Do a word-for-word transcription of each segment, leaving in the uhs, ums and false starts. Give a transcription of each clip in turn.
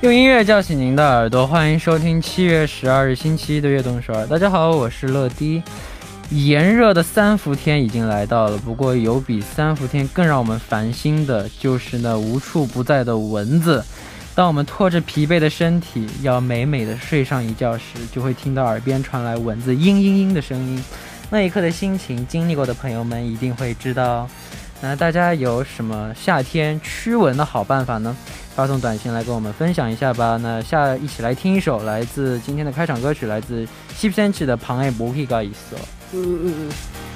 用音乐叫醒您的耳朵，欢迎收听七月十二日星期一的悦动首尔。大家好，我是乐迪。炎热的三伏天已经来到了，不过有比三伏天更让我们烦心的，就是那无处不在的蚊子。当我们拖着疲惫的身体要美美的睡上一觉时，就会听到耳边传来蚊子嘤嘤嘤的声音。那一刻的心情，经历过的朋友们一定会知道。那大家有什么夏天驱蚊的好办法呢？发送短信来跟我们分享一下吧。那下一起来听一首来自今天的开场歌曲，来自십 센치的방에 모기가 있어。嗯嗯嗯。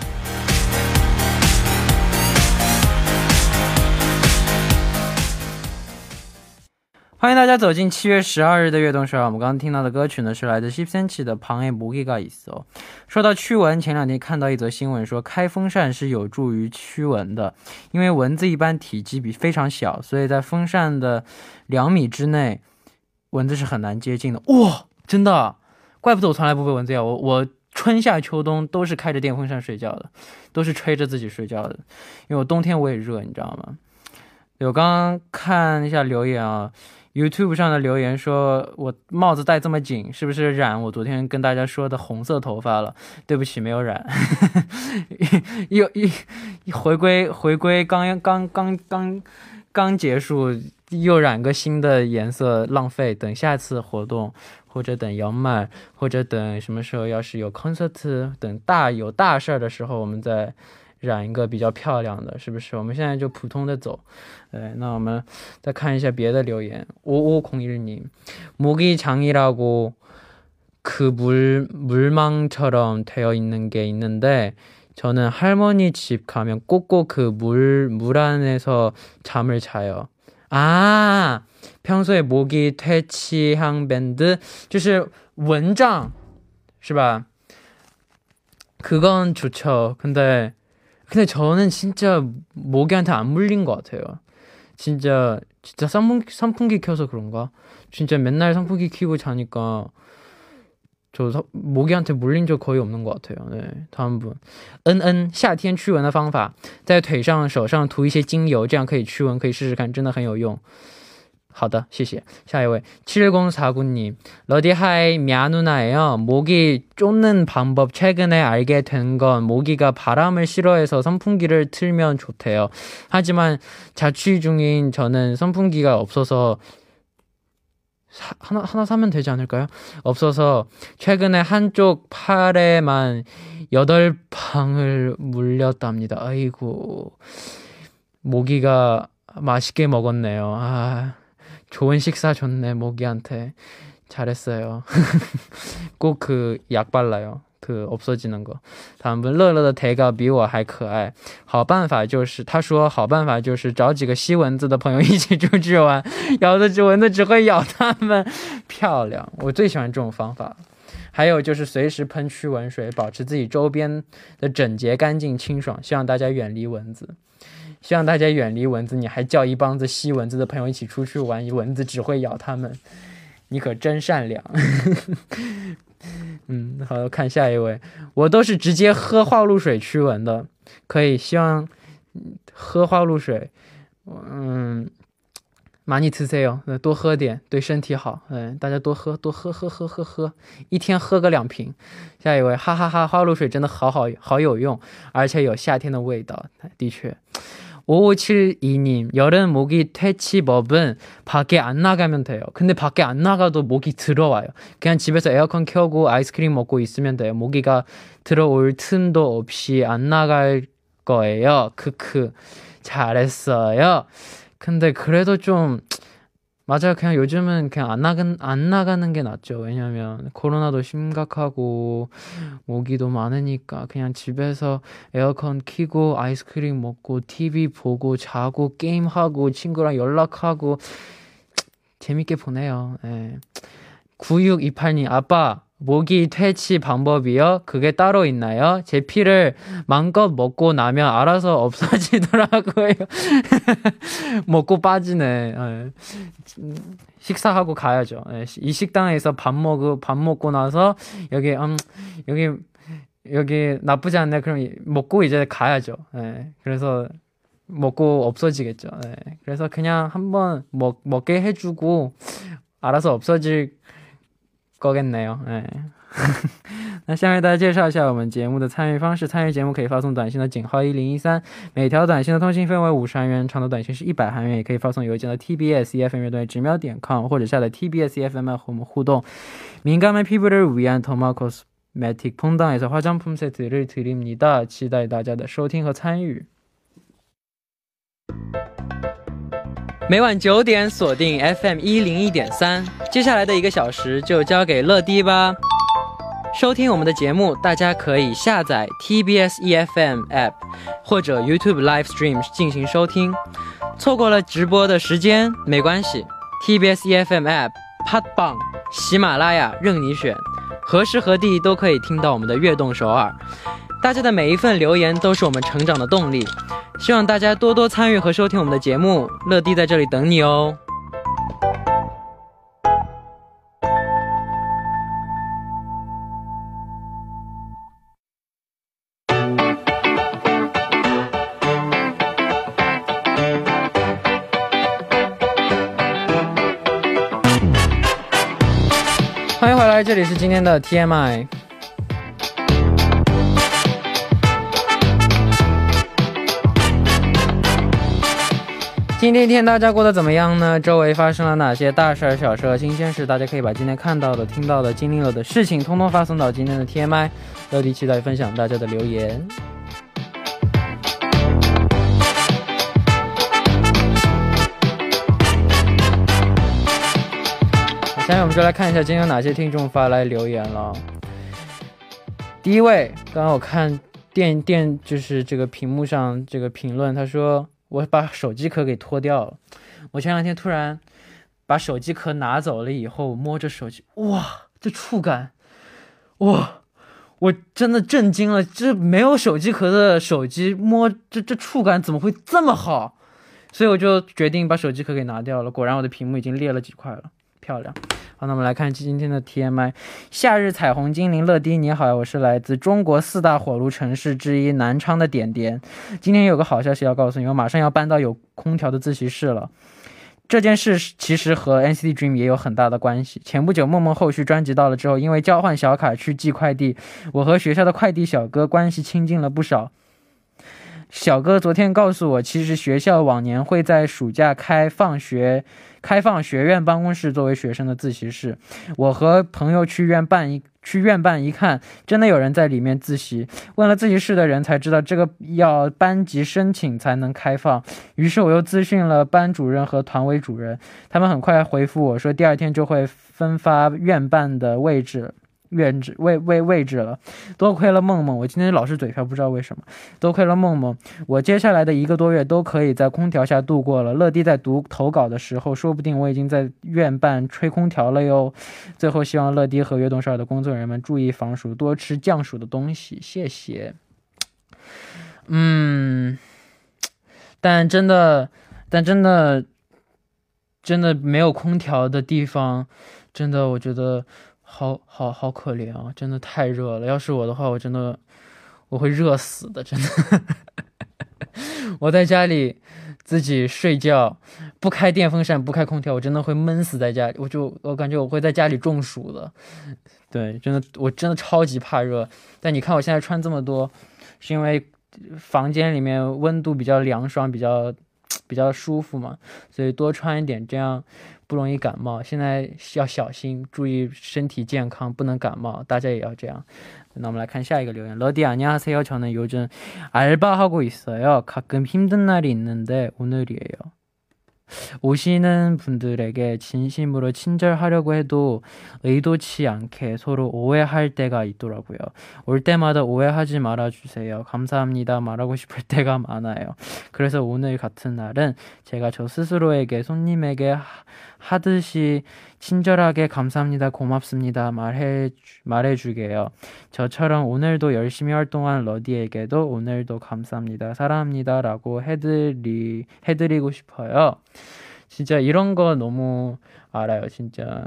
欢迎大家走进七月十二日的悦动首尔。我们刚刚听到的歌曲呢，是来自십 센치的방에 모기가 있어。说到驱蚊，前两天看到一则新闻说，开风扇是有助于驱蚊的，因为蚊子一般体积比非常小，所以在风扇的两米之内，蚊子是很难接近的。哇，真的，怪不得我从来不被蚊子咬。我我春夏秋冬都是开着电风扇睡觉的，都是吹着自己睡觉的，因为我冬天我也热，你知道吗？我刚刚看一下留言啊。YouTube 上的留言说我帽子戴这么紧是不是染我昨天跟大家说的红色头发了？对不起，没有染。又一回归回归刚刚刚刚刚结束，又染个新的颜色，浪费。等下次活动或者等摇麦或者等什么时候要是有 concert 等大有大事的时候，我们再染一个比较漂亮的，是不是？我们现在就普通的走。对，那我们再看一下别的留言。오오공일님 모기장이라고 그 물, 물망처럼 되어 있는 게 있는데 저는 할머니 집 가면 꼭꼭 그 물, 물 안에서 잠을 자요. 아, 평소에 모기 퇴치향 밴드 就是蚊帐是吧? 그건 좋죠. 근데 근데 저는 진짜 모기한테 안 물린 것 같아요. 진짜 진짜 선풍기, 선풍기 켜서 그런가? 진짜 맨날 선풍기 켜고 자니까 저 서, 모기한테 물린 적 거의 없는 것 같아요. 네, 다음 분. 은은 夏天驱蚊的方法，在腿上手上涂一些精油，这样可以驱蚊，可以试试看，真的很有用。好的，谢谢。下一位칠공사구님 러디하이 미아누나예요. 모기 쫓는 방법 최근에 알게 된 건 모기가 바람을 싫어해서 선풍기를 틀면 좋대요. 하지만 자취 중인 저는 선풍기가 없어서 사, 하나, 하나 사면 되지 않을까요? 없어서 최근에 한쪽 팔에만 여덟 방을 물렸답니다. 아이고, 모기가 맛있게 먹었네요. 아, 좋은 식사 줬네, 모기한테. 잘했어요. 꼭 그 약 발라요. 그 없어지는 거. 다음 분乐乐的대가比我还可爱。好办法就是他说好办法就是找几个吸蚊子的朋友一起出去玩，咬的只蚊子只会咬他们。漂亮，我最喜欢这种方法。还有就是随时喷驱蚊水，保持自己周边的整洁干净清爽，希望大家远离蚊子。希望大家远离蚊子，你还叫一帮子吸蚊子的朋友一起出去玩，蚊子只会咬他们，你可真善良。嗯，好，看下一位。我都是直接喝花露水驱蚊的，可以希望喝花露水，嗯，많이 드세요，多喝点对身体好，嗯，大家多喝多喝喝喝喝喝，一天喝个两瓶。下一位，哈哈哈，花露水真的好好好有用，而且有夏天的味道，的确。오오칠이님 여름 모기 퇴치법은 밖에 안 나가면 돼요. 근데 밖에 안 나가도 모기 들어와요. 그냥 집에서 에어컨 켜고 아이스크림 먹고 있으면 돼요. 모기가 들어올 틈도 없이 안 나갈 거예요. 크크. 잘했어요. 근데 그래도 좀 맞아요. 그냥 요즘은 그냥 안 나간 안 나가는 게 낫죠. 왜냐면 코로나도 심각하고 모기도 많으니까 그냥 집에서 에어컨 켜고 아이스크림 먹고 티비 보고 자고 게임하고 친구랑 연락하고 재밌게 보내요. 네. 구육이팔님 아빠 모기 퇴치 방법이요? 그게 따로 있나요? 제 피를 마음껏 먹고 나면 알아서 없어지더라고요. 먹고 빠지네. 식사하고 가야죠. 이 식당에서 밥 먹고 밥 먹고 나서 여기 음 여기 여기 나쁘지 않네. 그럼 먹고 이제 가야죠. 그래서 먹고 없어지겠죠. 그래서 그냥 한번 먹 먹게 해주고 알아서 없어질 거겠네요. 네. 那下面大家介绍一下我们节目的参与方式。参与节目可以发送短信的井号一零一三，每条短信的通信费为五十韩元，长的短信是一百韩元。也可以发送邮件到 t b s e f m 乐队直瞄点 com 或者下载 T B S E F M和我们互动。 민감한 피부를 위한 더마 코스메틱 퐁당에서 화장품 세트를 드립니다. 期待大家的收听和参与。 每晚九点锁定 F M 一零一点三， 接下来的一个小时就交给乐迪吧。 收听我们的节目，大家可以下载 T B S E F M App 或者 YouTube Live Stream 进行收听。 错过了直播的时间没关系， T B S E F M App、 팟빵、 喜马拉雅任你选， 何时何地都可以听到我们的悦动首尔。 大家的每一份留言都是我们成长的动力， 希望大家多多参与和收听我们的节目， 乐迪在这里等你哦。 欢迎回来，这里是今天的 T M I。 今天一天大家过得怎么样呢？周围发生了哪些大事小事新鲜事？大家可以把今天看到的、听到的、经历了的事情通通发送到今天的 T M I。 乐迪期待分享大家的留言。 下面我们就来看一下今天有哪些听众发来留言了。 第一位，刚刚我看电电就是这个屏幕上这个评论，他说 我把手机壳给脱掉了。 我前两天突然把手机壳拿走了以后，摸着手机，哇，这触感，哇，我真的震惊了，这没有手机壳的手机摸这这触感怎么会这么好？ 所以我就决定把手机壳给拿掉了，果然我的屏幕已经裂了几块了，漂亮。 好，那我们来看今天的 T M I。 夏日彩虹精灵乐迪你好，我是来自中国四大火炉城市之一南昌的点点。 今天有个好消息要告诉你，我马上要搬到有空调的自习室了。 这件事其实和 N C T Dream 也有很大的关系。 前不久梦梦后续专辑到了之后，因为交换小卡去寄快递， 我和学校的快递小哥关系亲近了不少。 小哥昨天告诉我，其实学校往年会在暑假开放学 开放学院办公室作为学生的自习室。 我和朋友去院办一 去院办一看，真的有人在里面自习。 问了自习室的人才知道这个要班级申请才能开放。 于是我又咨询了班主任和团委主任， 他们很快回复我说第二天就会分发院办的位置 位置位位位置了。 多亏了梦梦，我今天老是嘴瓢不知道为什么。 多亏了梦梦， 我接下来的一个多月都可以在空调下度过了。 乐迪在读投稿的时候，说不定我已经在院办吹空调了哟。 最后希望乐迪和悦动首尔的工作人员们注意防暑，多吃降暑的东西，谢谢。 嗯，但真的但真的真的没有空调的地方，真的我觉得 好好好可怜啊，真的太热了。要是我的话，我真的我会热死的，真的。我在家里自己睡觉，不开电风扇不开空调，我真的会闷死在家里，我就我感觉我会在家里中暑的。对，真的我真的超级怕热。但你看我现在穿这么多，是因为房间里面温度比较凉爽，比较比较舒服嘛，所以多穿一点，这样 不容易感冒。现在要小心，注意身体健康，不能感冒，大家也要这样。那我们来看下一个留言。 러디 안녕하세요. 저는 요즘 알바하고 있어요. 가끔 힘든 날이 있는데 오늘이에요. 오시는 분들에게 진심으로 친절하려고 해도 의도치 않게 서로 오해할 때가 있더라고요. 올 때마다 오해하지 말아주세요. 감사합니다. 말하고 싶을 때가 많아요. 그래서 오늘 같은 날은 제가 저 스스로에게 손님에게 하듯이 친절하게 감사합니다, 고맙습니다 말해, 말해주게요. 저처럼 오늘도 열심히 활동한 러디에게도 오늘도 감사합니다, 사랑합니다 라고 해드리, 해드리고 싶어요. 진짜 이런 거 너무 알아요. 진짜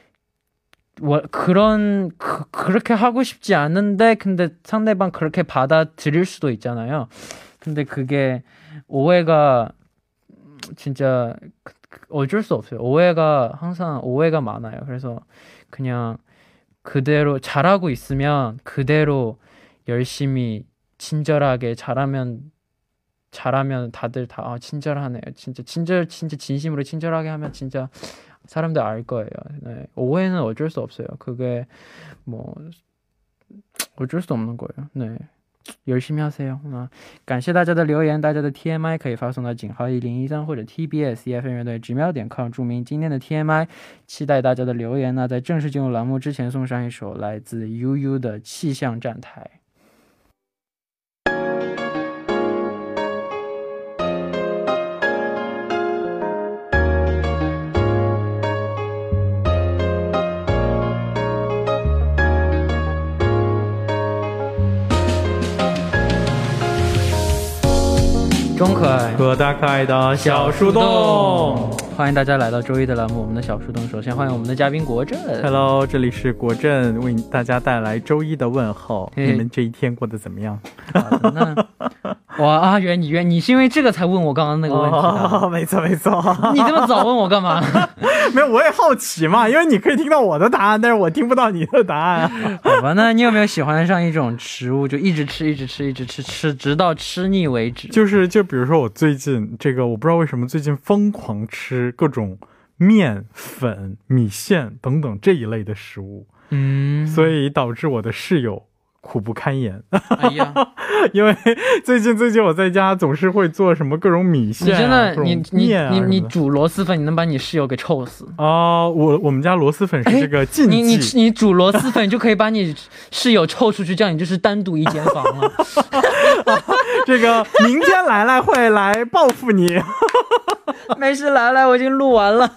그런 그, 그렇게 하고 싶지 않은데 근데 상대방 그렇게 받아들일 수도 있잖아요. 근데 그게 오해가 진짜 어쩔 수 없어요. 오해가 항상 오해가 많아요. 그래서 그냥 그대로 잘하고 있으면 그대로 열심히 친절하게 잘하면 잘하면 다들 다 아, 친절하네요. 진짜 친절 진짜 진심으로 친절하게 하면 진짜 사람들 알 거예요. 네. 오해는 어쩔 수 없어요. 그게 뭐 어쩔 수 없는 거예요. 네. 열심히 하세요.啊，感谢大家的留言，大家的 T M I 可以发送到井号一零一三或者 T B S E F M 乐队直瞄点 com 注明今天的 T M I， 期待大家的留言呢。在正式进入栏目之前，送上一首来自 U U 的气象站台。中可爱和大可爱的小树洞， 欢迎大家来到周一的栏目，我们的小树洞。首先欢迎我们的嘉宾国振。 Hello， 这里是国振，为大家带来周一的问候。你们这一天过得怎么样？ 好的，那哇啊，原你原你是因为这个才问我刚刚那个问题的？ 哦，没错没错。 你这么早问我干嘛？ 没有，我也好奇嘛，因为你可以听到我的答案，但是我听不到你的答案。 好吧，那你有没有喜欢上一种食物，就一直吃，一直吃，一直吃，吃直到吃腻为止？ 就是就比如说我最近这个，我不知道为什么最近疯狂吃各种面粉、米线等等这一类的食物，嗯，所以导致我的室友苦不堪言。哎呀，因为最近最近我在家总是会做什么各种米线、啊，你真的你你你你煮螺蛳粉，你能把你室友给臭死啊、呃！我我们家螺蛳粉是这个禁忌， 你你你煮螺蛳粉就可以把你室友臭出去，这样你就是单独一间房了。 啊、这个明天来来会来报复你。 没事，来来，我已经录完了。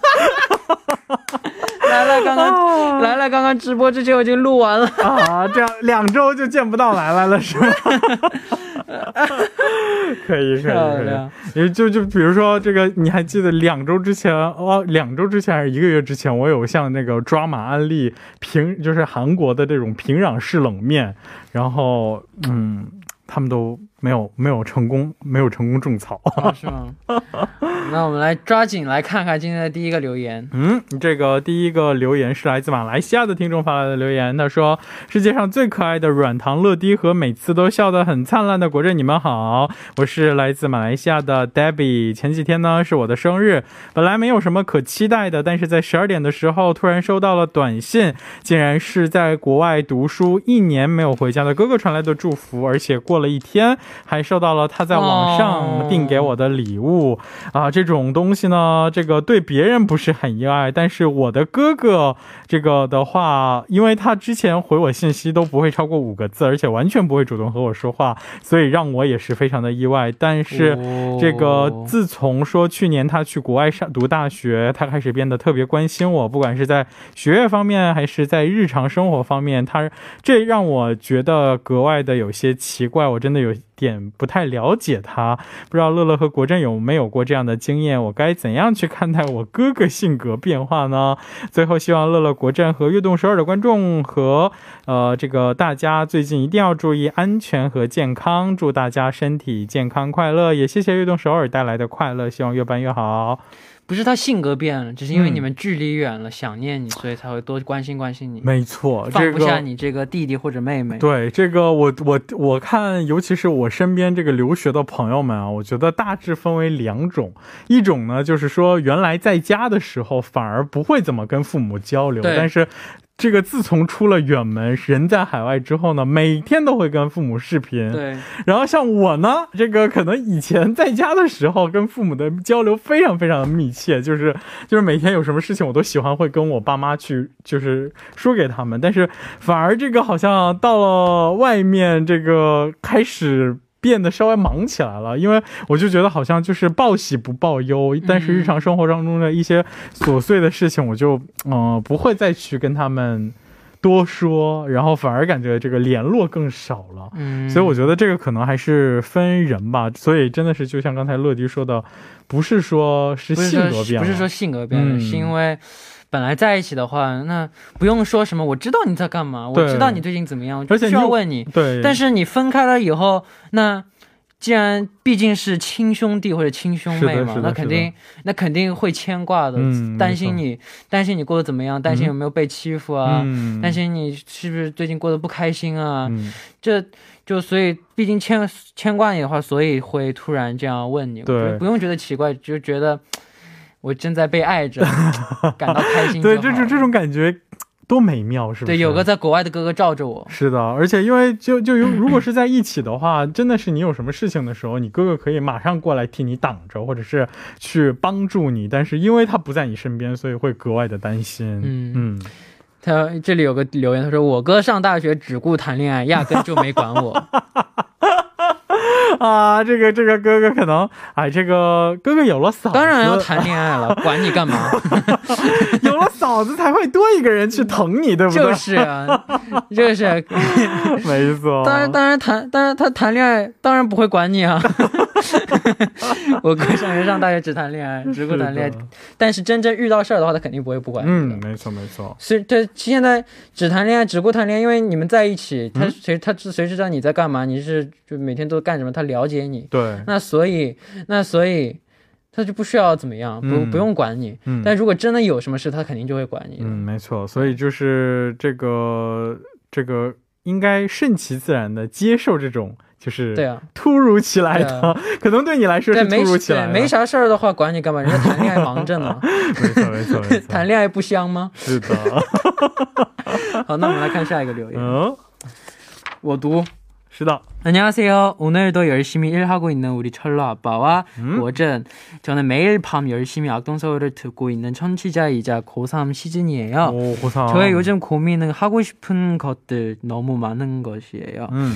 来来刚刚、啊、来来刚刚直播之前我已经录完了啊，这样两周就见不到来来了是吗？可以可以可以，就就比如说这个，你还记得两周之前哦，两周之前还是一个月之前，我有向那个抓马安利平，就是韩国的这种平壤式冷面，然后嗯。他们都没有没有成功没有成功种草、 啊、是吗？那我们来抓紧来看看今天的第一个留言。 嗯，这个第一个留言是来自马来西亚的听众发来的留言，他说世界上最可爱的软糖乐迪和每次都笑得很灿烂的国振，你们好，我是来自马来西亚的 Debbie。 前几天呢是我的生日，本来没有什么可期待的，但是在十二点的时候突然收到了短信，竟然是在国外读书一年没有回家的哥哥传来的祝福，而且过了一天还收到了他在网上订给我的礼物、哦、啊，这种东西呢，这个对别人不是很意外，但是我的哥哥这个的话，因为他之前回我信息都不会超过五个字，而且完全不会主动和我说话，所以让我也是非常的意外。但是这个自从说去年他去国外上读大学，他开始变得特别关心我，不管是在学业方面还是在日常生活方面，他这让我觉得格外的有些奇怪，我真的有点不太了解他，不知道乐乐和国振有没有过这样的经验，我该怎样去看待我哥哥性格变化呢？最后希望乐乐、国振和悦动首尔的观众和呃这个大家最近一定要注意安全和健康，祝大家身体健康快乐，也谢谢悦动首尔带来的快乐，希望越办越好。 不是他性格变了，只是因为你们距离远了、嗯、想念你，所以才会多关心关心你。 没错， 放不下你这个弟弟或者妹妹。 对，这个我我我看，尤其是我身边这个留学的朋友们啊，我觉得大致分为两种，一种呢就是说原来在家的时候反而不会怎么跟父母交流，但是这个自从出了远门，人在海外之后呢，每天都会跟父母视频。 对。 然后像我呢，这个可能以前在家的时候跟父母的交流非常非常的密切，就是就是每天有什么事情我都喜欢会跟我爸妈去就是说给他们，但是反而这个好像到了外面这个开始变得稍微忙起来了，因为我就觉得好像就是报喜不报忧，但是日常生活当中的一些琐碎的事情我就嗯、呃、不会再去跟他们多说，然后反而感觉这个联络更少了、嗯、所以我觉得这个可能还是分人吧，所以真的是就像刚才乐迪说的，不是说是性格变了， 不是说性格变了、嗯、是因为本来在一起的话，那不用说什么我知道你在干嘛，我知道你最近怎么样，我就需要问你。对，但是你分开了以后，那既然毕竟是亲兄弟或者亲兄妹嘛，那肯定那肯定会牵挂的，担心你担心你过得怎么样，担心有没有被欺负啊，担心你是不是最近过得不开心啊，这就所以毕竟牵牵挂你的话，所以会突然这样问你，对，不用觉得奇怪，就觉得我正在被爱着，感到开心就好。对，就是这种感觉 多美妙，是不是？对，有个在国外的哥哥照着我。是的，而且因为就就如果是在一起的话，真的是你有什么事情的时候，你哥哥可以马上过来替你挡着，或者是去帮助你，但是因为他不在你身边，所以会格外的担心。嗯嗯。他这里有个留言，他说我哥上大学只顾谈恋爱，压根就没管我。啊，这个这个哥哥可能哎，这个哥哥有了嫂子，当然要谈恋爱了，管你干嘛？有了嫂子才会多一个人去疼你，对不对？就是啊，就是没错。当然当然谈当然他谈恋爱当然不会管你啊。我哥上学上大学只谈恋爱，只顾谈恋爱，但是真正遇到事儿的话他肯定不会不管你。嗯，没错没错。所以对，现在只谈恋爱只顾谈恋爱，因为你们在一起，他谁他谁知道你在干嘛，你是就每天都干什么，他了解你。对，那所以那所以他就不需要怎么样，不不用管你。但如果真的有什么事，他肯定就会管你。嗯，没错。所以就是这个这个应该顺其自然的接受这种就是突如其来的，可能对你来说是突如其来的。没啥事儿的话管你干嘛，人家谈恋爱忙着呢。没错没错没错。谈恋爱不香吗？是的。好，那我们来看下一个留言。我读。 안녕하세요. 오늘도 열심히 일하고 있는 우리 철러 아빠와 워전. 저는 매일 밤 열심히 악동서울을 듣고 있는 청취자이자 고삼 시즌이에요. 오, 고삼. 저의 요즘 고민은 하고 싶은 것들 너무 많은 것이에요. 음.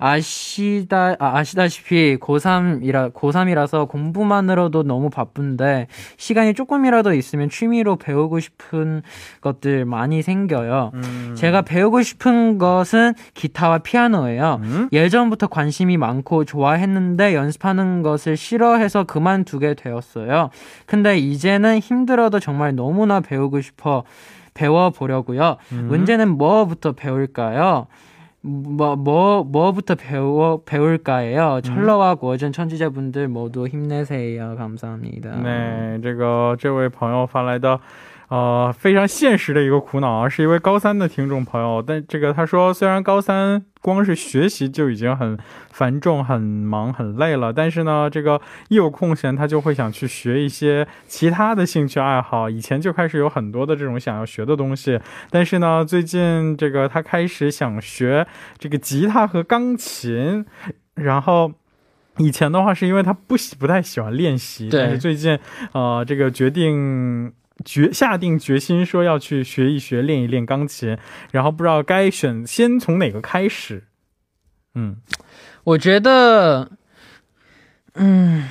아시다, 아, 아시다시피 고삼이라, 고삼이라서 공부만으로도 너무 바쁜데 시간이 조금이라도 있으면 취미로 배우고 싶은 것들 많이 생겨요. 음. 제가 배우고 싶은 것은 기타와 피아노예요. 음? 예전부터 관심이 많고 좋아했는데 연습하는 것을 싫어해서 그만두게 되었어요. 근데 이제는 힘들어도 정말 너무나 배우고 싶어 배워보려고요. 음? 문제는 뭐부터 배울까요? 뭐, 뭐, 뭐부터 배워, 배울까예요. 철러와 고전 청취자분들 모두 힘내세요. 감사합니다. 네, 这个这位朋友发来的 呃非常现实的一个苦恼啊，是一位高三的听众朋友，但这个他说虽然高三光是学习就已经很繁重很忙很累了，但是呢这个一有空闲他就会想去学一些其他的兴趣爱好，以前就开始有很多的这种想要学的东西，但是呢最近这个他开始想学这个吉他和钢琴，然后 以前的话是因为他不喜不太喜欢练习，但是最近呃这个决定 决下定决心说要去学一学练一练钢琴，然后不知道该选先从哪个开始。嗯，我觉得嗯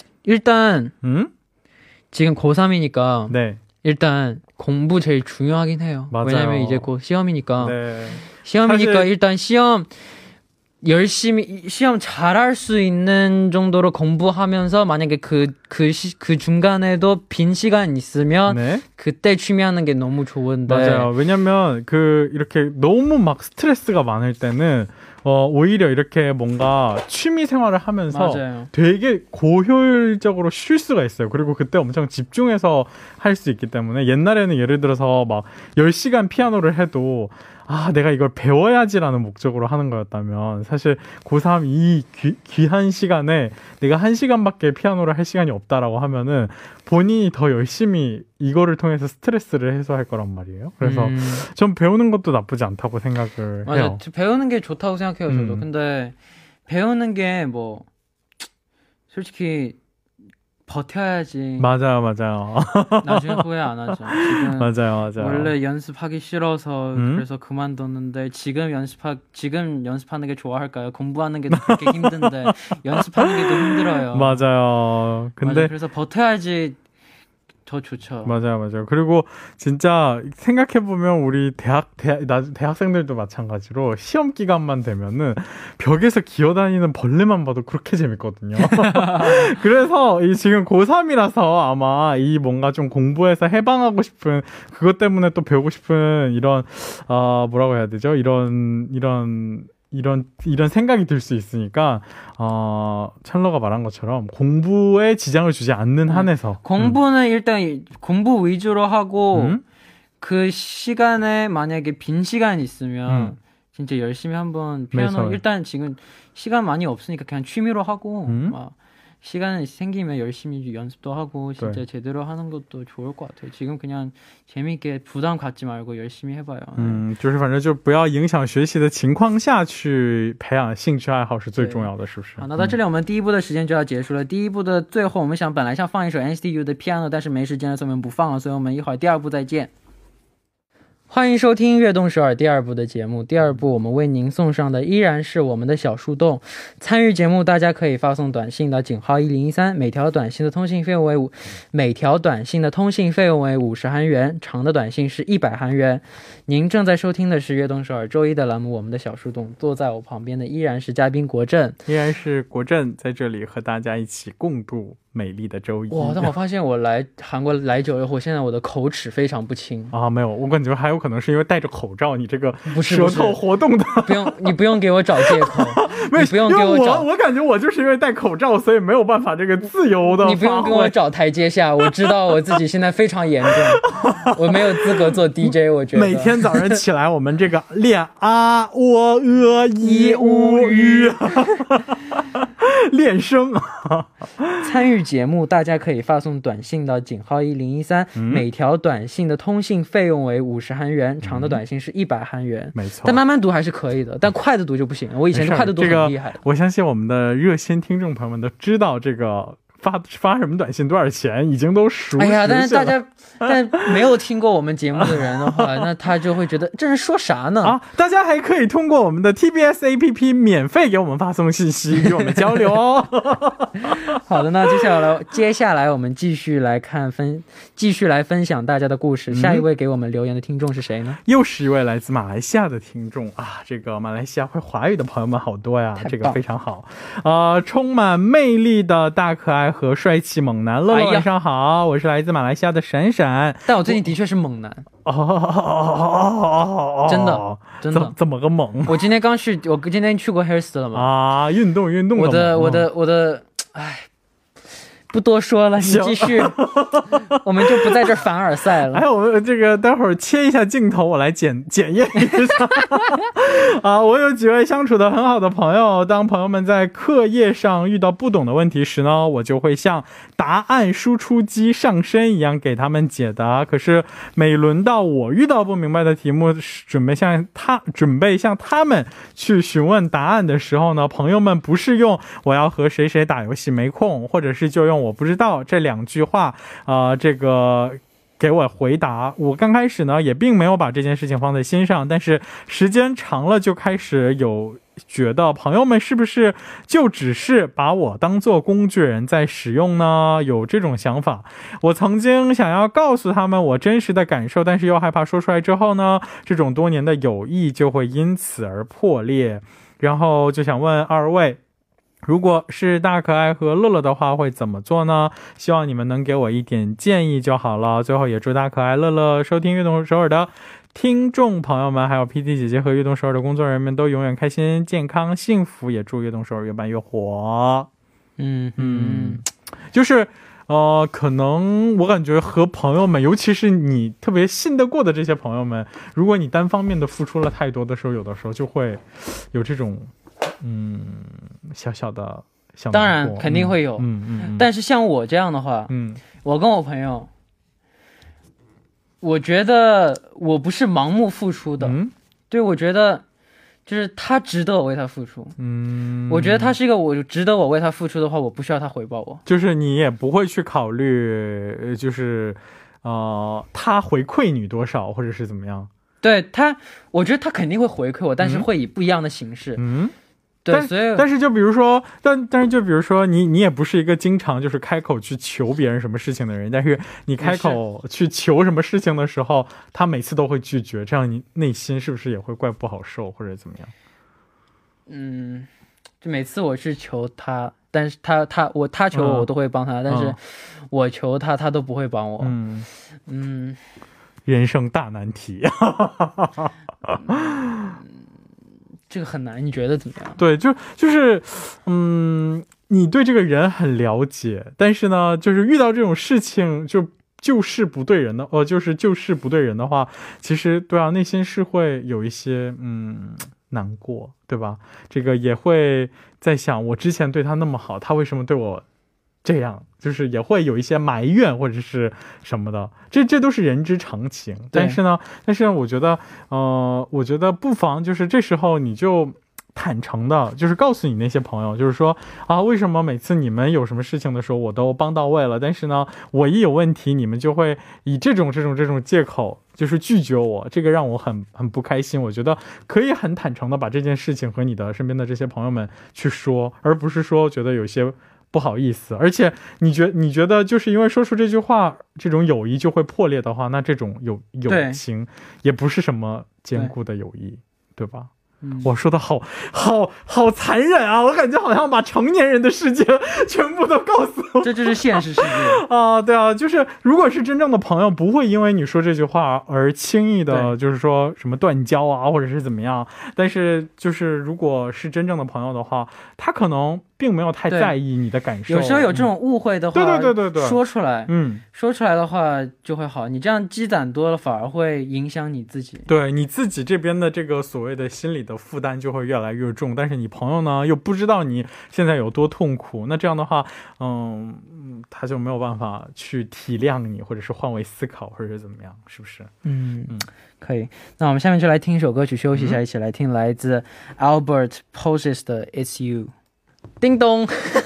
일단 음? 지금 고삼이니까 네. 일단 공부 제일 중요하긴 해요. 맞아요. 왜냐면 이제 곧 시험이니까. 네. 시험이니까 사실... 일단 시험 열심히 시험 잘할 수 있는 정도로 공부하면서 만약에 그 그 그 중간에도 빈 시간 있으면 네? 그때 취미하는 게 너무 좋은데. 맞아요. 왜냐면 그 이렇게 너무 막 스트레스가 많을 때는 어 오히려 이렇게 뭔가 취미 생활을 하면서 맞아요. 되게 고효율적으로 쉴 수가 있어요. 그리고 그때 엄청 집중해서 할 수 있기 때문에 옛날에는 예를 들어서 막 열 시간 피아노를 해도 아 내가 이걸 배워야지라는 목적으로 하는 거였다면 사실 고삼 이 귀, 귀한 시간에 내가 한 시간밖에 피아노를 할 시간이 없다라고 하면은 본인이 더 열심히 이거를 통해서 스트레스를 해소할 거란 말이에요. 그래서 음. 전 배우는 것도 나쁘지 않다고 생각을 맞아, 해요. 배우는 게 좋다고 생각해요. 저도. 음. 근데 배우는 게 뭐 솔직히 버텨야지. 맞아요, 맞아요. 나중에 후회 안 하죠. 지금 맞아요, 맞아요. 원래 연습하기 싫어서 음? 그래서 그만뒀는데 지금 연습하 지금 연습하는 게 좋아할까요? 공부하는 게 그렇게 힘든데 연습하는 게 더 힘들어요. 맞아요. 근데 맞아요. 그래서 버텨야지. 더 좋죠. 맞아요, 맞아요. 그리고 진짜 생각해보면 우리 대학, 대학, 대학생들도 마찬가지로 시험 기간만 되면은 벽에서 기어다니는 벌레만 봐도 그렇게 재밌거든요. 그래서 이 지금 고삼이라서 아마 이 뭔가 좀 공부해서 해방하고 싶은 그것 때문에 또 배우고 싶은 이런, 아, 뭐라고 해야 되죠? 이런, 이런, 이런 이런 생각이 들 수 있으니까 어, 찰러가 말한 것처럼 공부에 지장을 주지 않는 한에서 공부는 음. 일단 공부 위주로 하고 음? 그 시간에 만약에 빈 시간이 있으면 음. 진짜 열심히 한번 피아노 매설. 일단 지금 시간 많이 없으니까 그냥 취미로 하고 음? 막 시간 생기면 열심히 연습도 하고 진짜 네. 제대로 하는 것도 좋을 것 같아요. 지금 그냥 재미있게 부담 갖지 말고 열심히 해봐요. 嗯，就是反正就不要影响学习的情况下去培养兴趣爱好是最重要的，是不是？ 好，那到这里我们第一部的时间就要结束了。第一部的最后，我们想本来想放一首 N C T U 的 Piano， 但是没时间了，所以我们不放了。所以我们一会儿第二部再见。欢迎收听悦动首尔第二部的节目。第二部我们为您送上的依然是我们的小树洞。参与节目大家可以发送短信到井号一零一三，每条短信的通信费用为五每条短信的通信费用为五十韩元，长的短信是一百韩元。您正在收听的是悦动首尔周一的栏目我们的小树洞，坐在我旁边的依然是嘉宾国振， 依然是国振在这里和大家一起共度美丽的周一。 哇，但我发现我来韩国来久了后，现在我的口齿非常不清啊。没有，我感觉还有可能是因为戴着口罩，你这个舌头活动的。 不用，你不用给我找借口。 没有，不用给我找。 我我感觉我就是因为戴口罩，所以没有办法这个自由的。 你不用给我找台阶下，我知道我自己现在非常严重，我没有资格做 D J。我觉得每天早上起来，我们这个练啊喔呃一乌语。练声。 参与节目大家可以发送短信到井号一零一三，每条短信的通信费用为五十韩元，长的短信是一百韩元。没错，但慢慢读还是可以的，但快的读就不行了。我以前快的读很厉害的。 我相信我们的热心听众朋友们都知道这个发发什么短信多少钱，已经都熟悉了。哎呀， 但是大家但没有听过我们节目的人的话，那他就会觉得这人说啥呢？ 啊，大家还可以通过我们的 T B S A P P 免费给我们发送信息，与我们交流哦。 好的，那接下来接下来我们继续来看分，继续来分享大家的故事。下一位给我们留言的听众是谁呢？ 又是一位来自马来西亚的听众啊，这个马来西亚会华语的朋友们好多呀，这个非常好。呃，充满魅力的大可爱和帅气猛男乐乐，晚上好，我是来自马来西亚的闪闪。 但我最近的确是猛男哦， 真的真的怎么个猛？ 我今天刚去，我今天去过 Hairst 了嘛？ 啊，运动运动。 我的我的我的，哎，不多说了，你继续，我们就不在这凡尔赛了。 哎，我们这个待会儿切一下镜头，我来检检验一下。啊，我有几位相处的很好的朋友，当朋友们在课业上遇到不懂的问题时呢，我就会像答案输出机上身一样给他们解答。可是每轮到我遇到不明白的题目，准备向他准备向他们去询问答案的时候呢，朋友们不是用我要和谁谁打游戏没空，或者是就用我不知道这两句话啊、呃，这个给我回答。我刚开始呢也并没有把这件事情放在心上，但是时间长了就开始有觉得朋友们是不是就只是把我当做工具人在使用呢？有这种想法。我曾经想要告诉他们我真实的感受，但是又害怕说出来之后呢，这种多年的友谊就会因此而破裂。然后就想问二位，如果是大可爱和乐乐的话会怎么做呢？希望你们能给我一点建议就好了。最后也祝大可爱乐乐收听悦动首尔的听众朋友们，还有 P D 姐姐和悦动首尔的工作人员们都永远开心健康幸福，也祝悦动首尔越办越火。嗯嗯，就是呃，可能我感觉和朋友们，尤其是你特别信得过的这些朋友们，如果你单方面的付出了太多的时候，有的时候就会有这种嗯小小的小， 当然肯定会有。嗯嗯，但是像我这样的话，嗯，我跟我朋友，我觉得我不是盲目付出的。嗯，对，我觉得就是他值得我为他付出。嗯，我觉得他是一个我值得我为他付出的话，我不需要他回报我。 就是你也不会去考虑就是呃他回馈你多少或者是怎么样。 对他，我觉得他肯定会回馈我，但是会以不一样的形式。嗯，对， 但所以但是就比如说，但但是就比如说你你也不是一个经常就是开口去求别人什么事情的人，但是你开口去求什么事情的时候，他每次都会拒绝，这样你内心是不是也会怪不好受或者怎么样？ 嗯，就每次我去求他，但是他他我他求我我都会帮他，嗯，但是我求他他都不会帮我。嗯嗯。人生大难题。 这个很难，你觉得怎么样？ 对，就就是嗯你对这个人很了解，但是呢就是遇到这种事情就就事不对人的呃就是就事不对人的话，其实对啊内心是会有一些嗯难过，对吧？这个也会在想我之前对他那么好，他为什么对我这样，就是也会有一些埋怨或者是什么的，这这都是人之常情。但是呢但是我觉得呃我觉得不妨就是这时候你就坦诚的就是告诉你那些朋友，就是说啊为什么每次你们有什么事情的时候我都帮到位了，但是呢我一有问题你们就会以这种这种这种借口就是拒绝我，这个让我很很不开心。我觉得可以很坦诚的把这件事情和你的身边的这些朋友们去说，而不是说觉得有些不好意思。而且你觉你觉得就是因为说出这句话这种友谊就会破裂的话，那这种友友情也不是什么坚固的友谊， 对吧？ 我说的好好好残忍啊，我感觉好像把成年人的世界全部都告诉我，这就是现实世界啊。对啊，就是如果是真正的朋友不会因为你说这句话而轻易的就是说什么断交啊或者是怎么样，但是就是如果是真正的朋友的话，他可能并没有太在意你的感受，有时候有这种误会的话，对对对对，说出来，嗯，说出来的话就会好，你这样积攒多了反而会影响你自己，对你自己这边的这个所谓的心理的负担就会越来越重，但是你朋友呢又不知道你现在有多痛苦，那这样的话嗯他就没有办法去体谅你或者是换位思考或者是怎么样，是不是？嗯嗯，可以。那我们下面就来听一首歌曲休息一下，一起来听来自 Albert Poses 的 It's You。 叮咚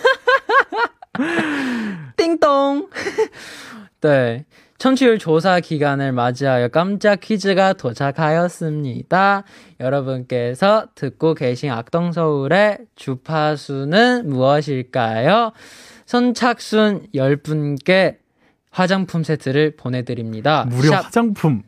叮咚네, 청취율 조사 기간을 맞이하여 깜짝 퀴즈가 도착하였습니다. 여러분께서 듣고 계신 악동서울의 주파수는 무엇일까요? 선착순 열 분께 화장품 세트를 보내드립니다. 무려 샵, 화장품.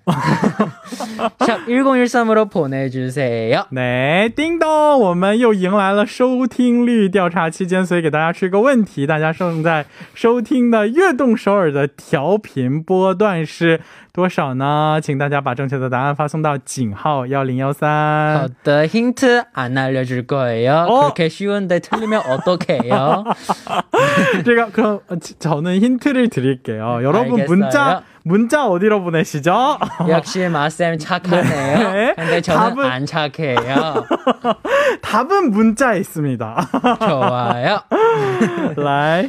샵 일공일삼으로 보내주세요. 네, 叮咚，我们又迎来了收听率调查期间，所以给大家出一个问题，大家正在收听的悦动首尔的调频波段是多少呢？请大家把正确的答案发送到井号一零一三。好的， 힌트 안 알려줄 거예요. 그렇게 쉬운데 틀리면 어떡해요? 제가 그럼 저는 힌트를 드릴게요. 여러분 알겠어요. 문자 문자 어디로 보내시죠? 역시 마쌤 착하네요. 네. 근데 저는 답은, 안 착해요. 답은 문자에 있습니다. 좋아요. 来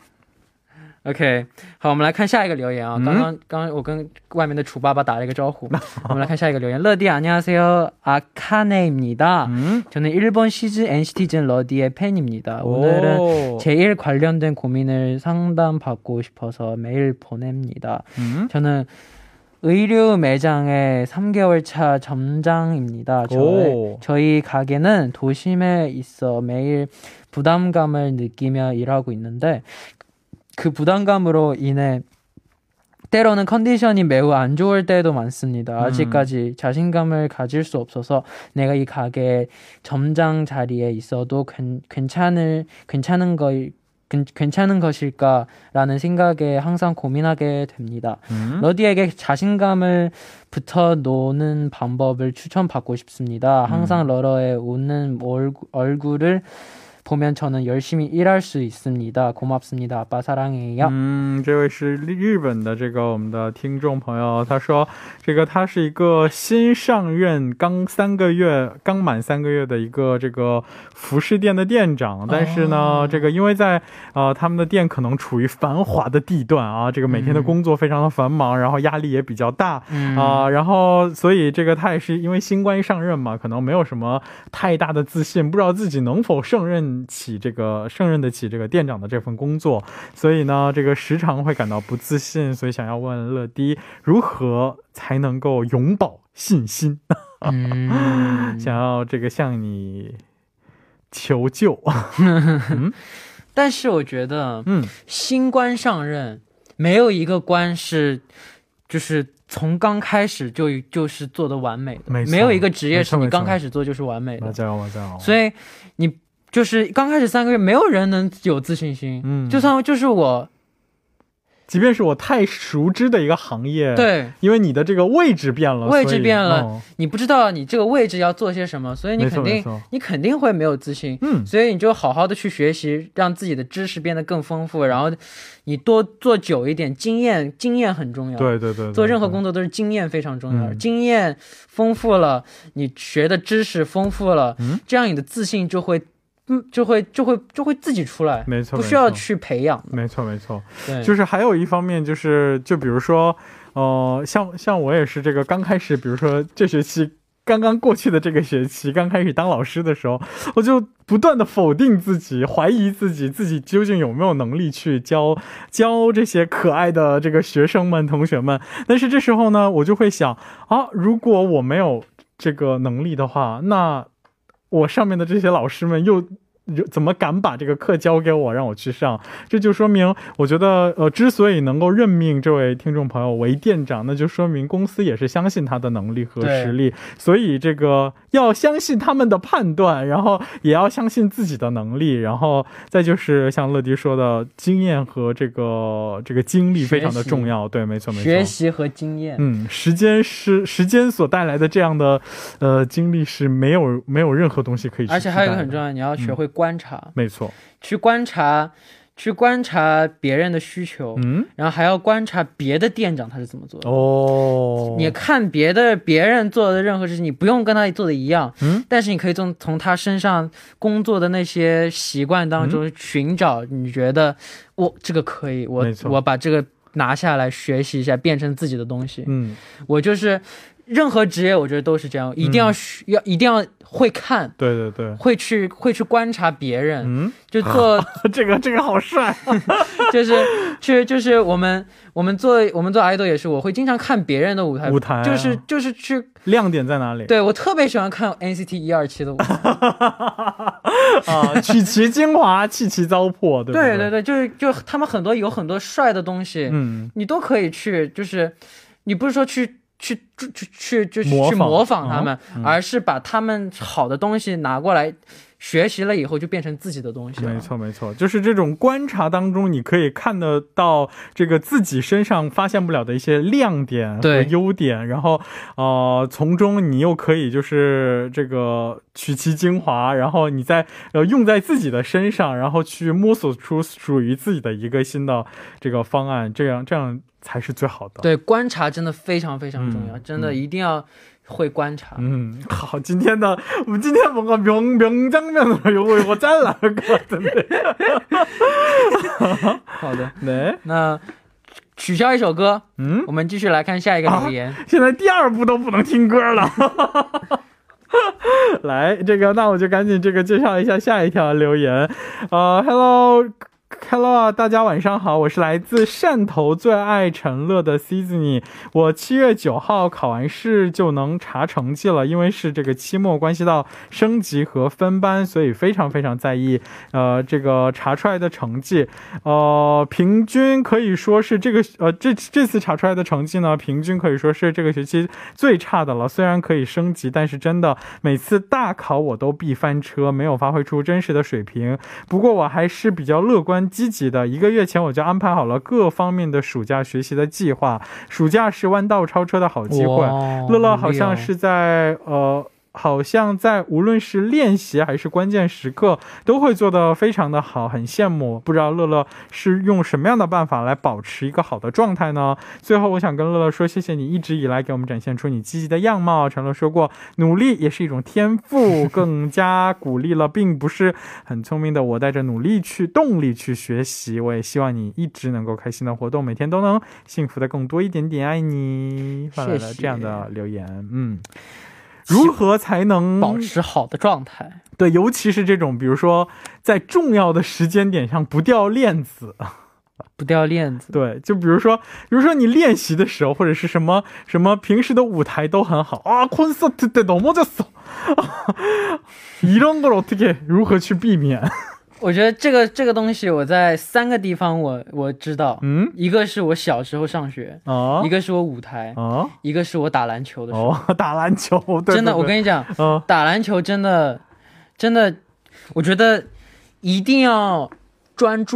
OK， 好，我们来看下一个留言啊。刚刚刚刚我跟外面的楚爸爸打了一个招呼。我们来看下一个留言。 러디 안녕하세요. 아카네입니다. 음? 저는 일본 시즈 엔시티즌 러디의 팬입니다. 오늘은 제일 관련된 고민을 상담받고 싶어서 메일 보냅니다. 음? 저는 의류 매장의 삼 개월 차 점장입니다. 저희, 저희 가게는 도심에 있어 매일 부담감을 느끼며 일하고 있는데 그 부담감으로 인해 때로는 컨디션이 매우 안 좋을 때도 많습니다. 아직까지 자신감을 가질 수 없어서 내가 이 가게 점장 자리에 있어도 괜찮을, 괜찮은 거, 괜찮은 것일까라는 생각에 항상 고민하게 됩니다. 음? 러디에게 자신감을 붙여놓는 방법을 추천받고 싶습니다. 항상 음. 러러의 웃는 얼굴, 얼굴을 보면 저는 열심히 일할 수 있습니다. 고맙습니다. 아빠 사랑해요. 嗯，这位是日本的这个我们的听众朋友，他说这个他是一个新上任刚三个月刚满三个月的一个这个服饰店的店长，但是呢这个因为在呃他们的店可能处于繁华的地段啊，这个每天的工作非常的繁忙，然后压力也比较大啊，然后所以这个他也是因为新官上任嘛，可能没有什么太大的自信，不知道自己能否胜任起这个胜任得起这个店长的这份工作，所以呢这个时常会感到不自信，所以想要问乐迪如何才能够永葆信心，想要这个向你求救。但是我觉得新官上任没有一个官是就是从刚开始就就是做的完美的，没有一个职业是你刚开始做就是完美的，所以你就是刚开始三个月没有人能有自信心，就算就是我即便是我太熟知的一个行业， 对， 因为你的这个位置变了， 位置变了、 哦、 你不知道你这个位置要做些什么，所以你肯定你肯定会没有自信，嗯，所以你就好好的去学习，让自己的知识变得更丰富，然后你多做久一点，经验经验很重要， 对对 对, 对， 做任何工作都是经验非常重要、嗯、经验丰富了，你学的知识丰富了、嗯、这样你的自信就会嗯，就会就会就会自己出来，没错，不需要去培养， 没错没错，对，就是还有一方面就是就比如说呃像像我也是这个刚开始，比如说这学期刚刚过去的这个学期刚开始当老师的时候，我就不断的否定自己，怀疑自己自己究竟有没有能力去教教这些可爱的这个学生们同学们。但是这时候呢我就会想啊，如果我没有这个能力的话，那我上面的这些老师们又怎么敢把这个课交给我让我去上，这就说明我觉得呃，之所以能够任命这位听众朋友为店长，那就说明公司也是相信他的能力和实力，所以这个要相信他们的判断，然后也要相信自己的能力，然后再就是像乐迪说的经验和这个这个经历非常的重要，对，没错没错， 学习和经验， 嗯，时间是时间所带来的这样的呃经历是没有没有任何东西可以取代的，而且还有一个很重要，你要学会观察、嗯、 没错， 去观察去观察别人的需求，嗯，然后还要观察别的店长他是怎么做的哦。你看别的别人做的任何事情，你不用跟他做的一样，嗯，但是你可以从从他身上工作的那些习惯当中寻找，你觉得我这个可以，我我把这个拿下来学习一下，变成自己的东西。嗯，我就是任何职业，我觉得都是这样，一定要、嗯、要一定要会看， 对对对， 会去会去观察别人，嗯，就做这个这个好帅， 就是去就是我们我们做我们做 idol 也是，我会经常看别人的舞台， 舞台、啊、 就是就是去亮点在哪里？ 对，我特别喜欢看 N C T 一二七的舞台， 啊，取其精华，弃其糟粕，对不对？ 对对对，就是就他们很多有很多帅的东西，嗯，你都可以去，就是你不是说去。去去去就去模仿他们、嗯、而是把他们好的东西拿过来学习了以后就变成自己的东西了。 没错没错，就是这种观察当中你可以看得到这个自己身上发现不了的一些亮点和优点，然后呃从中你又可以就是这个取其精华，然后你再呃用在自己的身上，然后去摸索出属于自己的一个新的这个方案，这样这样才是最好的。 对，观察真的非常非常重要、嗯、真的一定要会观察。 嗯，好，今天的我们今天뭔가 명 명장면으로 요거 요거 잘라 할 것 같은데. 好的，네，那取消一首歌，嗯，我们继续来看下一个留言。 现在第二部都不能听歌了。来，这个那我就赶紧这个介绍一下下一条留言。呃 ，Hello。Hello 啊，大家晚上好，我是来自汕头最爱陈乐的 Sydney。 我七月九号考完试就能查成绩了，因为是这个期末关系到升级和分班，所以非常非常在意呃这个查出来的成绩。呃平均可以说是这个呃这这次查出来的成绩呢，平均可以说是这个学期最差的了。虽然可以升级，但是真的每次大考我都必翻车，没有发挥出真实的水平。不过我还是比较乐观积极的，一个月前我就安排好了各方面的暑假学习的计划。暑假是弯道超车的好机会。乐乐好像是在呃好像在无论是练习还是关键时刻都会做得非常的好，很羡慕。不知道乐乐是用什么样的办法来保持一个好的状态呢？最后我想跟乐乐说，谢谢你一直以来给我们展现出你积极的样貌。陈乐说过，努力也是一种天赋，更加鼓励了并不是很聪明的我带着努力去动力去学习。我也希望你一直能够开心的活动，每天都能幸福的更多一点点，爱你。发来了这样的留言。嗯，如何才能保持好的状态？ 对，尤其是这种比如说在重要的时间点上不掉链子。 不掉链子， 对，就比如说比如说你练习的时候，或者是什么什么平时的舞台都很好啊，콘서트 때 넘어졌어 이런 걸 어떻게如何去避免？ 我觉得这个这个东西我在三个地方我我知道，嗯，一个是我小时候上学，哦，一个是我舞台，哦，一个是我打篮球的时候。 哦，打篮球，对， 真的，我跟你讲，哦，打篮球真的真的，我觉得一定要专注。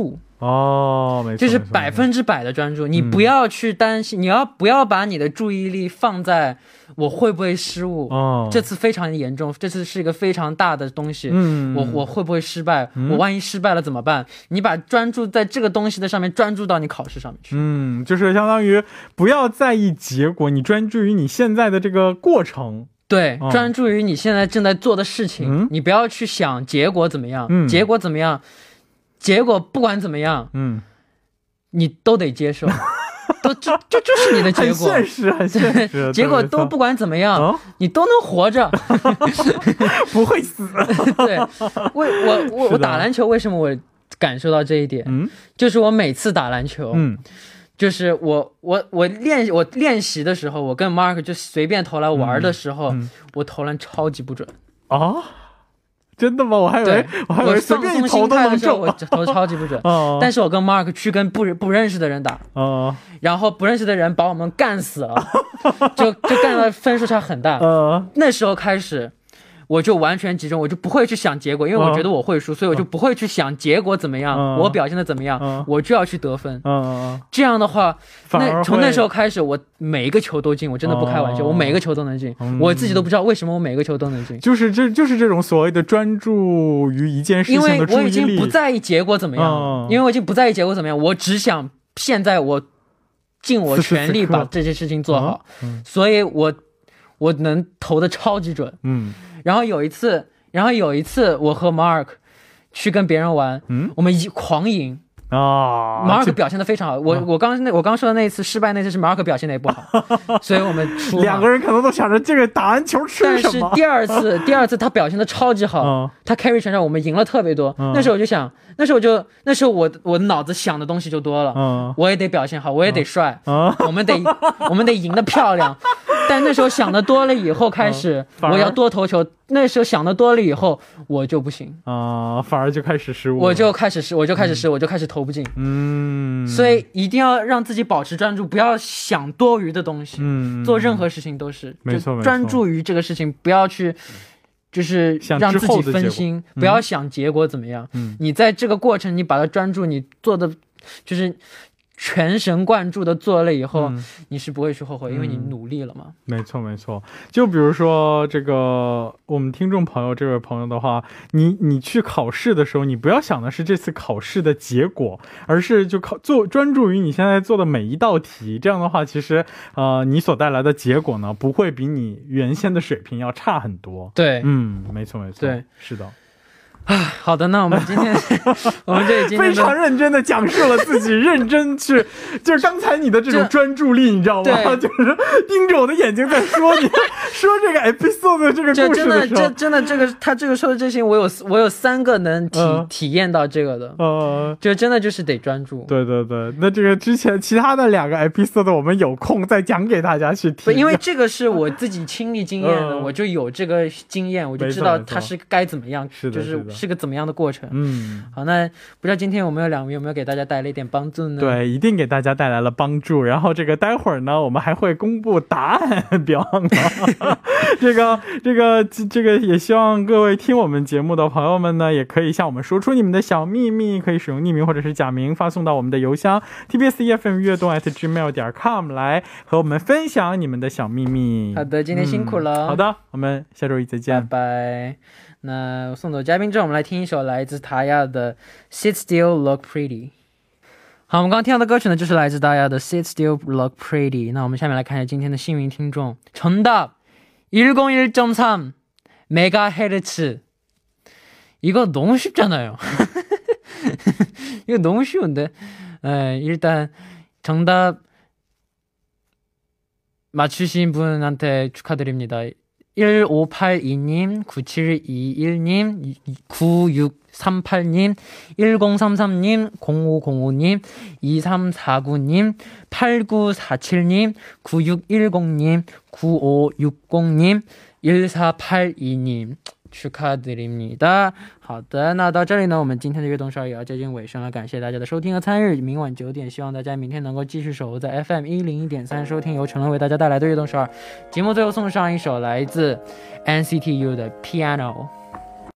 哦，没错， 就是百分之百的专注，你不要去担心，你要不要把你的注意力放在我会不会失误，这次非常严重，这次是一个非常大的东西，我我会不会失败，我万一失败了怎么办，你把专注在这个东西的上面，专注到你考试上面去。 嗯，就是相当于不要在意结果，你专注于你现在的这个过程。 对，专注于你现在正在做的事情，你不要去想结果怎么样，结果怎么样，结果不管怎么样，嗯，你都得接受，都这这就是你的结果， 很现实，很现实。 结果都不管怎么样，你都能活着， 不会死。 对，我我我我打篮球，为什么我感受到这一点？嗯，就是我每次打篮球，嗯，就是我我我练我练习的时候，我跟 Mark 就随便投篮玩的时候，我投篮超级不准啊。真的吗？我还以为我还以为随便一投都能中，我投超级不准。但是我跟 Mark 去跟不不认识的人打，然后不认识的人把我们干死了，就就干到分数差很大。那时候开始我就完全集中，我就不会去想结果，因为我觉得我会输，所以我就不会去想结果怎么样，我表现的怎么样，我就要去得分。这样的话，那从那时候开始，我每一个球都进，我真的不开玩笑，我每一个球都能进，我自己都不知道为什么我每个球都能进。就是这就是这种所谓的专注于一件事情的注意力。因为我已经不在意结果怎么样，因为我已经不在意结果怎么样，我只想现在我尽我全力把这些事情做好，所以我我能投的超级准。嗯。然后有一次，然后有一次，我和 Mark 去跟别人玩，嗯，我们一狂赢啊 ，Mark 表现的非常好。我我刚那我刚说的那一次失败，那次是 Mark 表现的也不好，所以我们输了。两个人可能都想着这个打篮球吃什么。但是第二次，第二次他表现的超级好，嗯、他 carry 全场，我们赢了特别多。嗯、那时候我就想，那时候我就那时候我我脑子想的东西就多了，嗯、我也得表现好，我也得帅，嗯、我们得我们得赢得漂亮。但那时候想的多了以后开始、嗯、我要多投球，那时候想的多了以后我就不行啊、呃，反而就开始失误，我就开始失我就开始失、嗯、我就开始投不进。嗯，所以一定要让自己保持专注，不要想多余的东西。嗯，做任何事情都是没错，专注于这个事情，不要去就是让自己分心，不要想结果怎么样。嗯，你在这个过程你把它专注，你做的就是全神贯注的做了以后、嗯、你是不会去后悔，因为你努力了嘛、嗯、没错没错。就比如说这个我们听众朋友这位朋友的话，你你去考试的时候，你不要想的是这次考试的结果，而是就考做专注于你现在做的每一道题，这样的话其实呃你所带来的结果呢不会比你原先的水平要差很多。对，嗯，没错没错，对，是的。好的，那我们今天我们这今天非常认真的讲述了自己认真去就是刚才你的这种专注力你知道吗，就是盯着我的眼睛在说你说这个 episode 的这个故事的时候，这真的这个他这个说的这些我有我有三个能体、呃、体验到这个的，呃就真的就是得专注。对对对，那这个之前其他的两个 episode 我们有空再讲给大家去听，因为这个是我自己亲历经验的、呃、我就有这个经验，我就知道它是该怎么样，是的就是是个怎么样的过程。嗯，好，那不知道今天我们有两位有没有给大家带来一点帮助呢？对，一定给大家带来了帮助。然后这个待会儿呢我们还会公布答案表这个这个这个也希望各位听我们节目的朋友们呢也可以向我们说出你们的小秘密，可以使用匿名或者是假名发送到我们的邮箱 t b s e f m 悦动 at gmail 点 com 来和我们分享你们的小秘密。好的，今天辛苦了、嗯、好的，我们下周一再见，拜拜。那送走嘉宾之后，我们来听一首来自达雅的 Sit Still Look Pretty。 好，我们刚刚听到的歌曲呢就是来自达雅的 Sit Still Look Pretty。 那我们下面来看一下今天的幸运听众。정답 백일 점 삼 메가헤르츠。 이거 너무 쉽잖아요. 이거 너무 쉬운데. 네, 일단 정답 맞추신 분한테 축하드립니다. 일오팔이 님, 구칠이일 님, 구육삼팔 님, 일공삼삼 님, 공오공오 님, 이삼사구 님, 팔구사칠 님, 구육일공 님, 구오육공 님, 일사팔이 님 축하드립니다。 好的，那到这里呢我们今天的悦动十二也要接近尾声了，感谢大家的收听和参与。明晚九点希望大家明天能够继续守候在 F M 一零一点三收听由陈乐为大家带来的悦动十二节目。最后送上一首来自 N C T U 的 Piano。